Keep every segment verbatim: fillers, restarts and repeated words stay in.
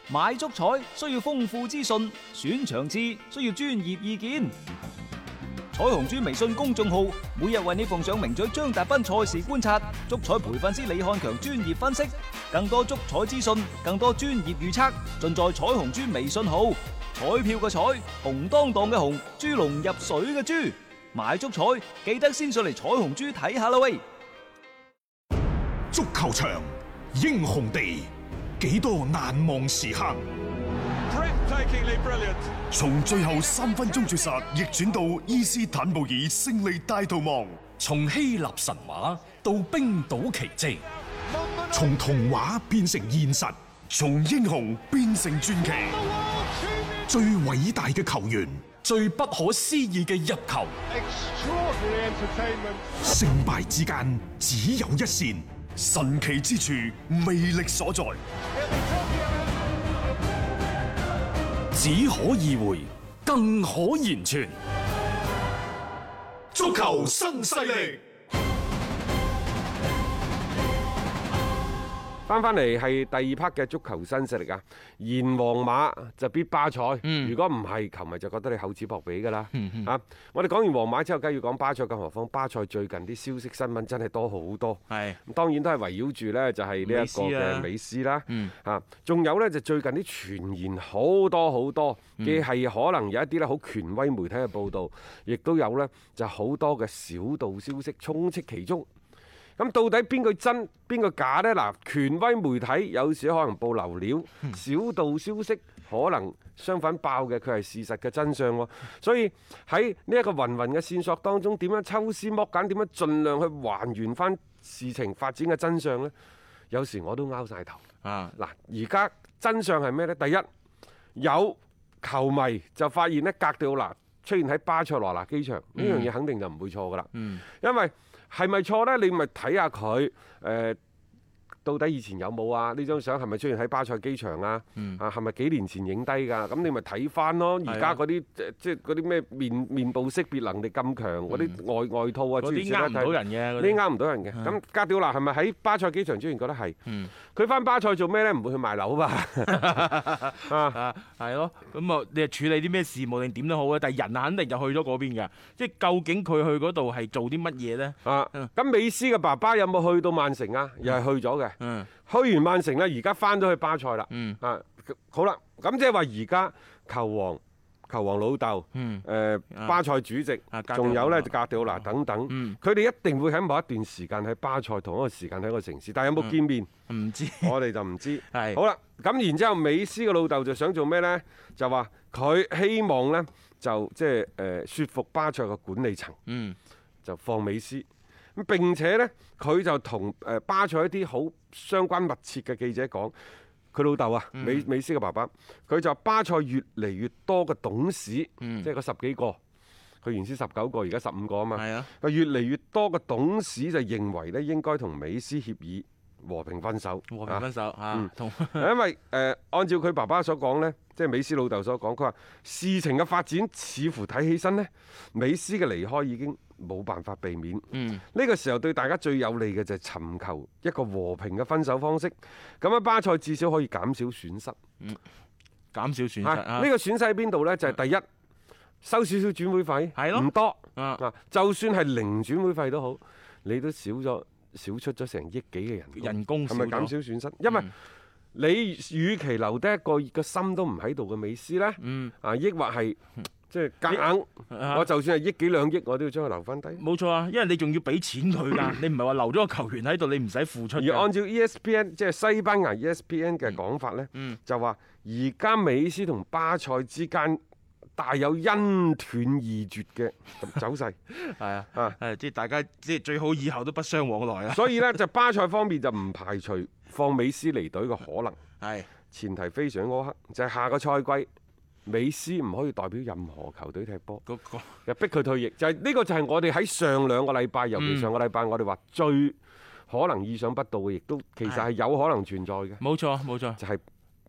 買足彩需要豐富資訊，選場次需要專業意見。彩虹豬微信公眾號每日為你奉上名嘴張達斌賽事觀察、足彩培訓師李漢強專業分析，更多足彩資訊、更多專業預測，盡在彩虹豬微信號。彩票嘅彩，紅當當嘅紅，豬籠入水嘅豬，買足彩記得先上嚟彩虹豬睇下啦喂！ 足球場，英雄地，幾多難忘時刻。從最後三分鐘絕殺逆轉到伊斯坦布爾勝利大逃亡， 從希臘神話到冰島奇蹟， 從童話變成現實，從英雄變成傳奇。最偉大嘅球員， 最不可思議嘅入球， 勝敗之間只有一線，神奇之處魅力所在。 只可意會，更可言傳。 足球新勢力。 翻翻嚟係第二 part 嘅足球新勢力啊！贏皇馬就必巴塞，嗯、如果唔係，球迷就覺得你厚此薄彼㗎啦。嗯嗯、啊！我哋講完皇馬之後，梗係要講巴塞，更何況巴塞最近啲消息新聞真係多好多。係是，當然都係圍繞住呢，就係呢一個嘅美斯啦。啊，仲、嗯、有呢，就最近啲傳言好多好多，既係可能有一啲咧好權威媒體嘅報導，亦都有呢就好多嘅小道消息充斥其中。咁到底邊個真邊個假呢？嗱，權威媒體有時可能報流料，小道消息可能相反爆嘅佢係事實嘅真相喎。所以喺呢一個芸芸嘅線索當中，點樣抽絲剝繭，點樣盡量去還原翻事情發展嘅真相呢？有時我都拗晒頭。啊，嗱，而家真相係咩呢？第一，有球迷就發現呢，格迪奧拿出現喺巴塞羅那機場，呢樣嘢肯定就唔會錯噶啦。嗯，因為係咪錯呢？你咪睇下佢誒到底以前有冇啊？呢張相係咪出現喺巴塞機場啊？嗯、啊係咪幾年前影低㗎？咁你咪睇翻咯。而家嗰啲即係嗰啲咩面面部識別能力咁強，嗰啲、嗯、外外套啊，嗰啲呃唔到人嘅，嗰啲呃唔到人嘅。咁、嗯、格調拿係咪喺巴塞機場出現？覺得係。佢翻、嗯、巴塞做咩呢？唔會去賣樓吧？ 啊，係咯。咁啊，你係處理啲咩事務定點都好啊？但係人肯定就去咗嗰邊㗎。即係究竟佢去嗰度係做啲乜嘢呢？啊， 咁美斯嘅爸爸有冇去到曼城啊？又係去咗嘅。嗯，去完曼城啦，而家翻咗去巴塞啦。嗯，啊，好啦，咁即係話而家球王、球王老豆，嗯，誒，巴塞主席，仲有咧就格迪奧拿等等，佢哋一定會喺某一段時間喺巴塞同一個時間喺一個城市，但係有冇見面？唔知，我哋就唔知。係，好啦，咁然之後，美斯嘅老豆就想做咩咧？就話佢希望咧就即係誒説服巴塞嘅管理層，嗯，就放美斯。咁並且呢，佢就同誒巴塞一啲好相關密切嘅記者講，佢老豆啊，美美斯嘅爸爸，佢就巴塞越嚟越多嘅董事，嗯、即係嗰十幾個，佢原先十九個，而家十五個啊嘛。係啊，越嚟越多嘅董事就認為咧，應該同美斯協議和平分手。和平分手嚇，同因為誒、呃、按照佢爸爸所講呢，即係美斯老豆所講，佢話事情嘅發展似乎睇起身呢，美斯嘅離開已經冇辦法避免，呢、嗯、個時候對大家最有利嘅就係尋求一個和平嘅分手方式。咁樣巴塞至少可以減少損失，嗯、減少損失。呢、啊、個損失喺邊度呢？就係、是、第一，收少少轉會費，係咯，唔多啊。就算係零轉會費都好，你都少咗少出咗成億幾嘅人工，人工係咪減少損失？因為你與其留低一個個心都唔喺度嘅美斯呢，嗯、啊，抑或係。即係夾硬，我就算係億幾兩億，我都要將佢留翻低。冇錯啊，因為你仲要俾錢佢㗎，你唔係話留咗個球員喺度，你唔使付出。而按照 E S P N 即係西班牙 E S P N 嘅講法呢，嗯、就話而家美斯同巴塞之間大有恩斷義絕嘅走勢。係啊，啊，係即係大家即係最好以後都不相往來啊。所以呢，就巴塞方面就唔排除放美斯離隊嘅可能。係前提非常苛刻，就係、是、下個賽季。美斯唔可以代表任何球隊踢波，嗰個又逼佢退役，就係、是、呢個就係我哋喺上兩個禮拜，尤其上個禮拜我哋話最可能意想不到嘅，亦都其實係有可能存在嘅。冇錯冇錯，就係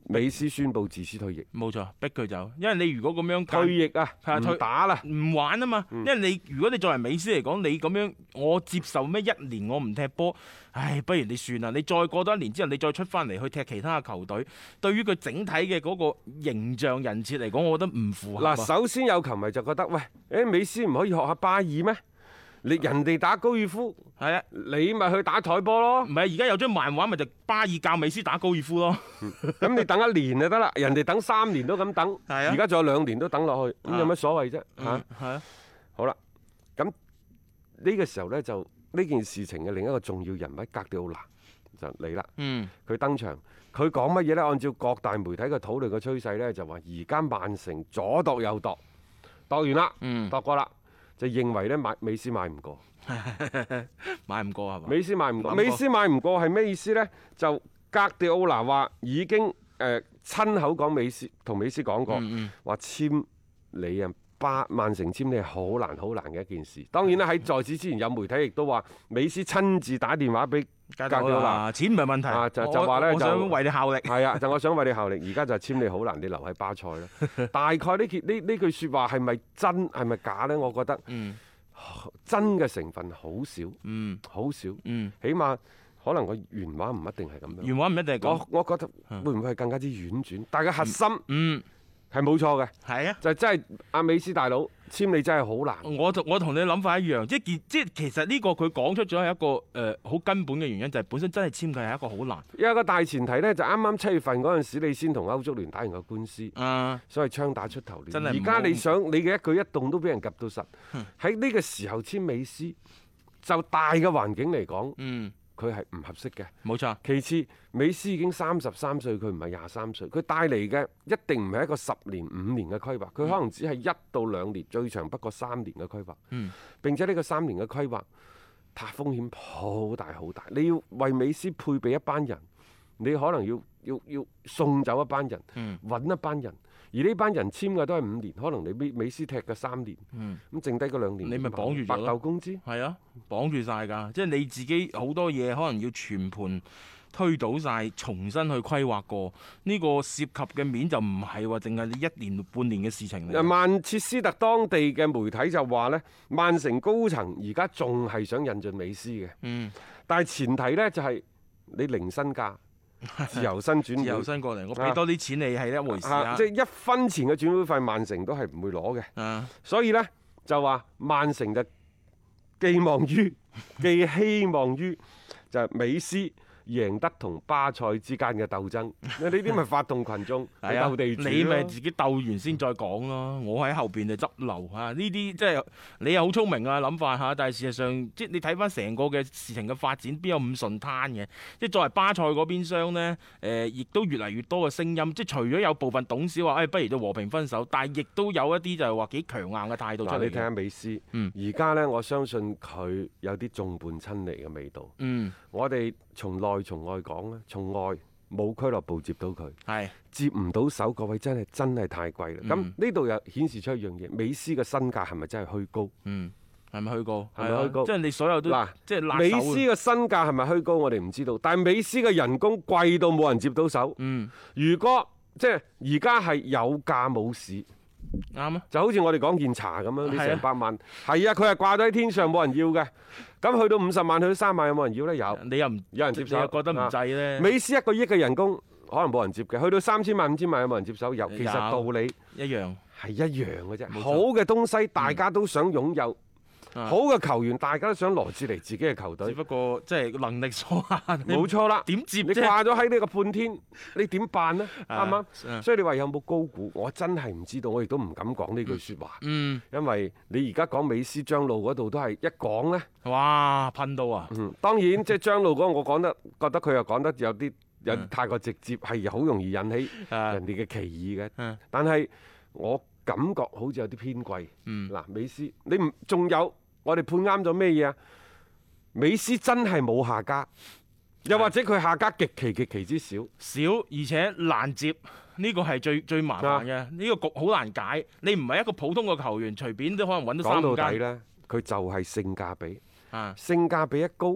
美斯宣布自此退役。 冇錯，逼佢走，因為你如果咁樣退役啊， 係啊退唔打啦， 唔玩啊嘛。 嗯、 因為你如果你作為美斯嚟講，你咁樣我接受咩一年我唔踢波，唉，不如你算啦。你再過多一年之後，你再出翻嚟去踢其他嘅球隊，對於佢整體嘅嗰個形象人設嚟講，我覺得唔符合。 嗱，首先有球迷就覺得，喂，誒美斯唔可以學下巴爾咩？你人哋打高爾夫，係啊，你咪去打台波咯。 唔係，而家有張漫畫咪就巴爾教美斯打高爾夫咯。 咁、嗯、你等一年就得啦，人哋等三年都咁等，而家仲有兩年都等落去，咁有乜所謂啫？嚇，係啊。啊好啦，咁呢個時候呢，就呢件事情嘅另一個重要人物格迪奧拿就嚟啦。嗯，佢登場，佢講乜嘢呢？按照各大媒體嘅討論嘅趨勢呢，就話而家曼城左度右度，度完啦，嗯，度過啦。就認為咧買美斯買唔過， 買唔過係嘛？ 美斯買唔過，美斯買唔過係咩意思呢？就格迪奧拿話已經誒、呃、親口講美斯同美斯講過，話、嗯嗯、簽你啊巴曼城簽你係好難好難嘅一件事。當然啦，喺在，在此之前有媒體亦都話美斯親自打電話俾格迪奧拿， 錢唔係問題， 啊、就就話咧就想為你效力， 係啊，就我想為你效力。而家就簽你好難，你留喺巴塞啦。大概呢件呢呢句説話係咪真係咪假呢？我覺得、嗯、真嘅成分好少，嗯，好少，嗯，起碼可能個原話唔一定係咁樣。原話唔一定係咁。我我覺得會唔會係更加之婉轉？但係個核心，嗯，係冇錯嘅。係啊，就真係阿美斯大佬。簽你真係好難。 我我同你諗法一樣，即係即係其實呢個佢講出咗係一個誒好、呃、根本嘅原因，就係、是、本身真係簽佢係一個好難。 有一個大前提呢，就啱啱七月份嗰陣時，你先同歐足聯打完個官司，啊、所以槍打出頭亂。而家你想你嘅一舉一動都俾人及到實，喺呢、嗯、個時候簽美斯，就大嘅環境嚟講。嗯佢係唔合適嘅，冇錯。其次，美斯已經三十三歲，佢唔係廿三歲，佢帶嚟嘅一定唔係一個十年、五年嘅規劃，佢可能只係一到兩年，最長不過三年嘅規劃。嗯。並且呢個三年嘅規劃，它風險好大好大。你要為美斯配備一班人，你可能要要要送走一班人，揾、嗯、一班人。而呢班人簽嘅都係五年，可能你美美斯踢嘅三年，咁、嗯、剩低嗰兩年， 你咪綁住咗咯。白頭工資係啊，綁住晒㗎，即係你自己好多嘢可能要全盤推倒晒，重新去規劃過。呢、呢個涉及嘅面就唔係話淨係你一年半年嘅事情嚟。 曼徹斯特當地嘅媒體就話呢，曼城高層而家仲係想引進美斯嘅，嗯、但係前提呢，就係你零身價。自由身轉會， 自由身過嚟，我俾多啲錢你係一回事啊！ 即係一分錢嘅轉會費，曼城都係唔會攞嘅。啊、所以呢，就話曼城就寄望於，寄希望於就係美斯贏得同巴塞之間嘅鬥爭，呢啲咪發動群眾去鬥地主咯。 你咪自己鬥完先再講咯。我喺後邊就執漏嚇，呢啲即係你又好聰明啊諗法嚇，但係事實上即係你睇翻成個嘅事情嘅發展，邊有咁順攤嘅？即係作為巴塞嗰邊廂呢，誒、呃、亦都越嚟越多嘅聲音。即係除咗有部分董事話，誒、哎、不如就和平分手，但係亦都有一啲就係話幾強硬嘅態度出嚟。 你睇下美斯，而家、嗯、呢，我相信佢有啲眾叛親離嘅味道。嗯，我哋從內從外講咧，從外冇俱樂部接到佢，係是接唔到手，各位真係真係太貴啦。咁呢度又顯示出一樣嘢，美斯嘅身價係咪真係虛高？嗯，係咪虛高？係咪虛高？即係你所有都嗱，即係美斯嘅身價係咪虛高？我哋唔知道。但係美斯嘅人工貴到冇人接到手。嗯，如果即係而家係有價冇市。啱啊！就好似我哋講件茶咁樣，你成百萬係啊，佢係掛咗喺天上冇人要嘅。咁去到五十萬，去到三萬有冇人要呢？有，你又唔有人接手？你又覺得唔制呢？美斯一個億嘅人工可能冇人接嘅，去到三千萬、五千萬有冇人接手？有。其實道理一樣係一樣嘅啫。錯好嘅東西大家都想擁有。嗯好嘅球員，大家都想羅致嚟自己嘅球隊。只不過即係能力所限。冇錯啦，點接啫？你掛咗喺呢個半天，你點辦呢？啱唔啱？所以你話有冇高估？我真係唔知道，我亦都唔敢講呢句説話。嗯，因為你而家講美斯張路嗰度都係一講呢，哇噴到啊！嗯，當然即係張路嗰個，我講得覺得佢又講得有啲有啲太過直接，係好容易引起人哋嘅歧義嘅。嗯，但係我感覺好似有啲偏貴。嗯，嗱，美斯你唔仲有？我哋判啱咗咩嘢啊？美斯真係冇下家，又或者佢下家極其極其之少，少而且難接，呢個係最最麻煩嘅。呢、啊、個局好難解。你唔係一個普通嘅球員，隨便都可能揾到三間。講到底呢，佢就係性價比。啊，性價比一高，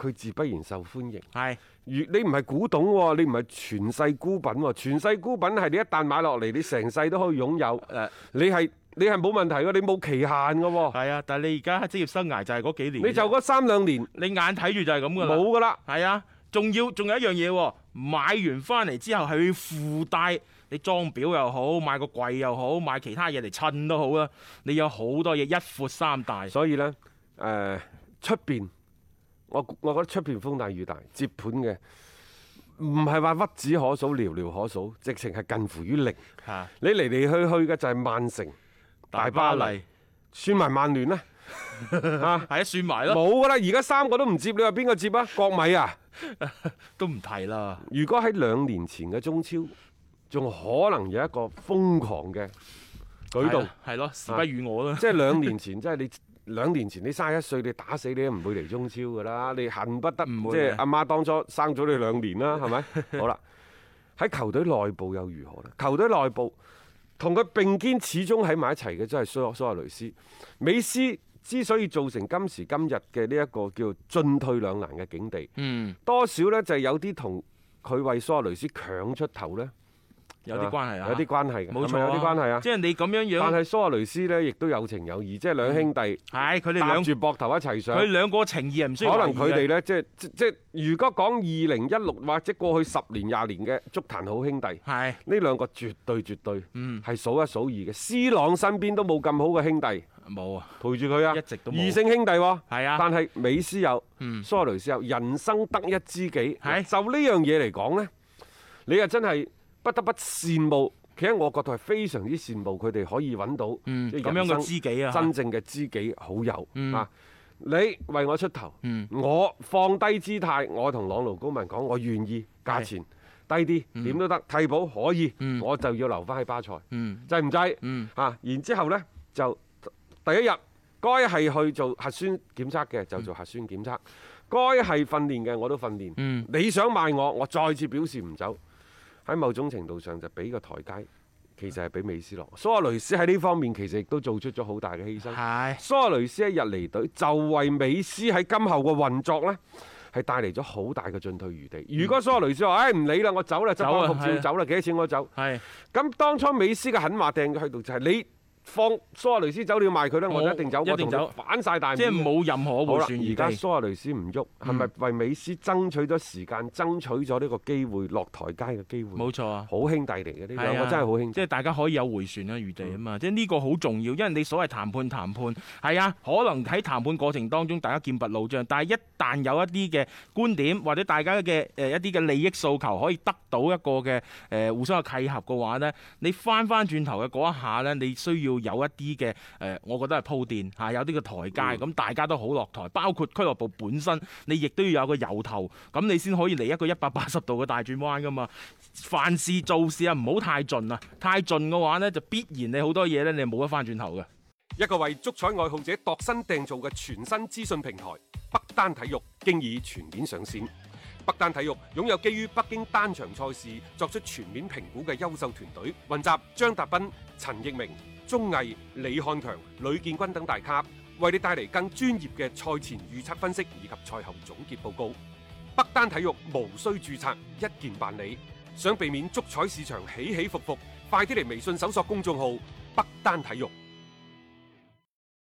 佢自不然受歡迎。 係， 如你唔係古董喎，你唔係傳世孤品喎，傳世孤品係你一旦買落嚟，你成世都可以擁有。誒，你係你係冇問題嘅，你冇期限嘅喎。 係啊，但係你而家職業生涯就係嗰幾年， 你就嗰三兩年， 你眼睇住就係咁噶啦， 冇噶啦。 係啊，仲要仲有一樣嘢喎，買完翻嚟之後係要附帶。你裝錶又好，買個櫃又好，買其他嘢嚟襯都好啦。你有好多嘢一闊三大， 所以呢，誒出邊，我我覺得出邊風大雨大，接盤嘅唔係話屈指可數、寥寥可數，直情係近乎於零。 啊、 你嚟嚟去去嘅就係曼城、大巴黎，巴黎算埋曼聯啦。啊， 係啊，算埋咯。 冇噶啦，而家三個都唔接，你話邊個接啊？國米啊， 都唔提啦。 如果喺兩年前嘅中超，仲可能有一個瘋狂嘅舉動， 係咯，時不與我啦。 即係兩年前，即係你兩年前你三十一歲，你打死你都唔會嚟中超噶啦，你恨不得即係阿媽當初生咗你兩年啦，係咪？好啦，喺球隊內部又如何咧？球隊內部同佢並肩始終喺埋一齊嘅，真係蘇蘇亞雷斯。美斯之所以造成今時今日嘅呢一個叫進退兩難嘅境地，嗯，多少呢就係有啲同佢為蘇亞雷斯強出頭呢。 有啲關係啊， 有啲關係嘅， 冇錯， 有啲關係啊。 即係你咁樣樣， 但係蘇亞雷斯呢，亦都有情有義，即係兩兄弟， 係佢哋搭住膊頭一齊上。 佢兩個情義唔需要。 可能佢哋呢，即係即即如果講二零一六或者過去十年廿年嘅足壇好兄弟，係呢兩個絕對絕對，嗯，係數一數二嘅。C 朗身邊都冇咁好嘅兄弟，冇啊，陪住佢啊，一直都冇異性兄弟喎，係啊。但係美斯有，嗯，蘇亞雷斯有，人生得一知己，係就呢樣嘢嚟講呢，你又真係不得不羨慕。其實我覺得係非常之羨慕佢哋可以揾到咁、嗯、樣嘅知己啊，真正嘅知己好友、嗯、啊！你為我出頭，嗯、我放低姿態，我同朗奴高文講，我願意價錢低啲，點、嗯、都得，替補可以，嗯、我就要留翻喺巴塞，嗯、制唔制？嗯、啊！然之後呢，就第一日該係去做核酸檢測嘅就做核酸檢測，嗯、該係訓練嘅我都訓練。嗯、你想賣我，我再次表示唔走。喺某種程度上就俾個台階，其實係俾美斯落。蘇亞雷斯喺呢方面其實亦都做出咗好大嘅犧牲。係蘇亞雷斯一日離隊，就為美斯喺今後嘅運作呢係帶嚟咗好大嘅進退餘地。如果蘇亞雷斯話：唉、哎，唔理啦，我走啦，執翻服照走啦，幾多錢我走？係咁，當初美斯嘅狠話掟咗喺度，就係你放蘇亞雷斯走，你要賣佢咧，我就一定走，一定走，反晒大面，即係冇任何回旋餘地。而家蘇亞雷斯唔喐，係咪為美斯爭取咗時間，爭取咗呢個機會落台階嘅機會？冇錯啊，好兄弟嚟嘅呢兩個真係好兄弟，即係大家可以有回旋嘅餘地啊嘛。即係呢個好重要，因為你所謂談判談判係啊，可能喺談判過程當中大家劍拔弩張，但係一旦有一啲嘅觀點或者大家嘅誒一啲嘅利益訴求可以得到一個嘅誒互相嘅契合嘅話呢，你翻翻轉頭嘅嗰一下呢，你需要有一啲嘅誒，我覺得係鋪墊嚇，有啲嘅台階，咁、嗯、大家都好落台，包括俱樂部本身，你亦都要有個由頭，咁你先可以嚟一個一百八十度嘅大轉彎噶嘛。凡事做事啊，唔好太盡啊，太盡嘅話呢，就必然你好多嘢呢，你冇得翻轉頭嘅。 一個為足彩愛好者度身訂造嘅全新資訊平台北單體育，經已全面上線。北單體育擁有基於北京單場賽事作出全面評估嘅優秀團隊，雲集張達斌、陳奕明、鐘毅、李漢強、呂建軍等大咖，為你帶嚟更專業嘅賽前預測分析以及賽後總結報告。北單體育無需註冊，一鍵辦理。想避免足彩市場起起伏伏，快啲嚟微信搜索公眾號北單體育。